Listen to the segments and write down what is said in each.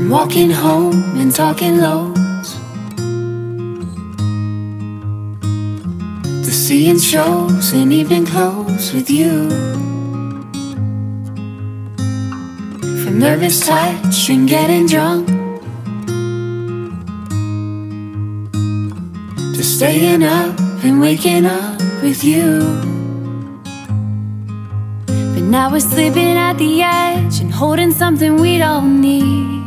walking home and talking lows, to seeing shows in evening clothes with you, from nervous touch and getting drunk, to staying up and waking up with you. But now we're sleeping at the edge and holding something we don't need.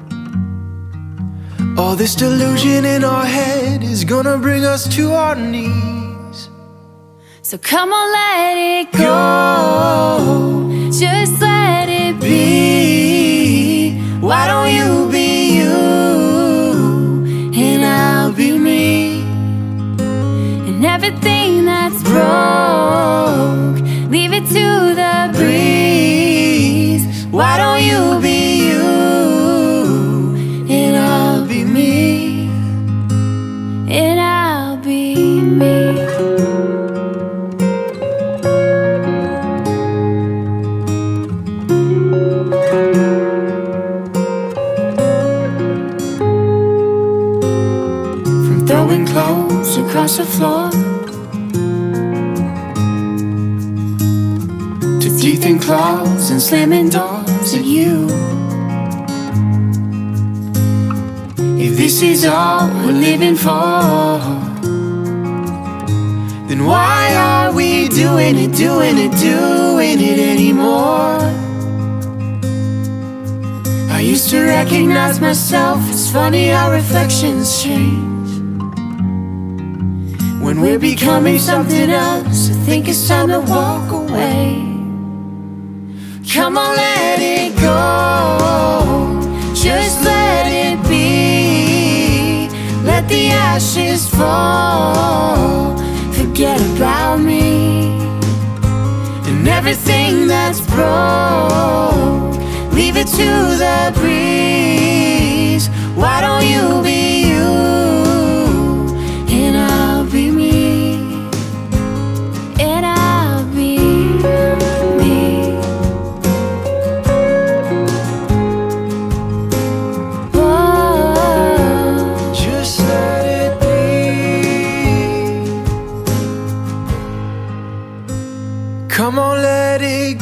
All this delusion in our head is gonna bring us to our knees. So come on, let it go, just let it be. Why don't you be you, and I'll be me. And everything that's broke, leave it to the breeze. Why don't you be you, and I'll be me, and I'll be me. From throwing clothes across the floor, to teeth and claws and slamming doors at you. If this is all we're living for, then why are we doing it anymore? I used to recognize myself. It's funny how reflections change. When we're becoming something else, I think it's time to walk away. Come on, let it go, just let it be. Let the ashes fall, forget about me. And everything that's broke, leave it to the breeze. Why don't you be you, and I'll be me, and I'll be me. Oh, Just let it be. Come on, let it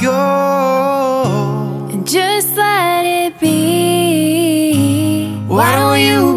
go. and just let it be. Why don't you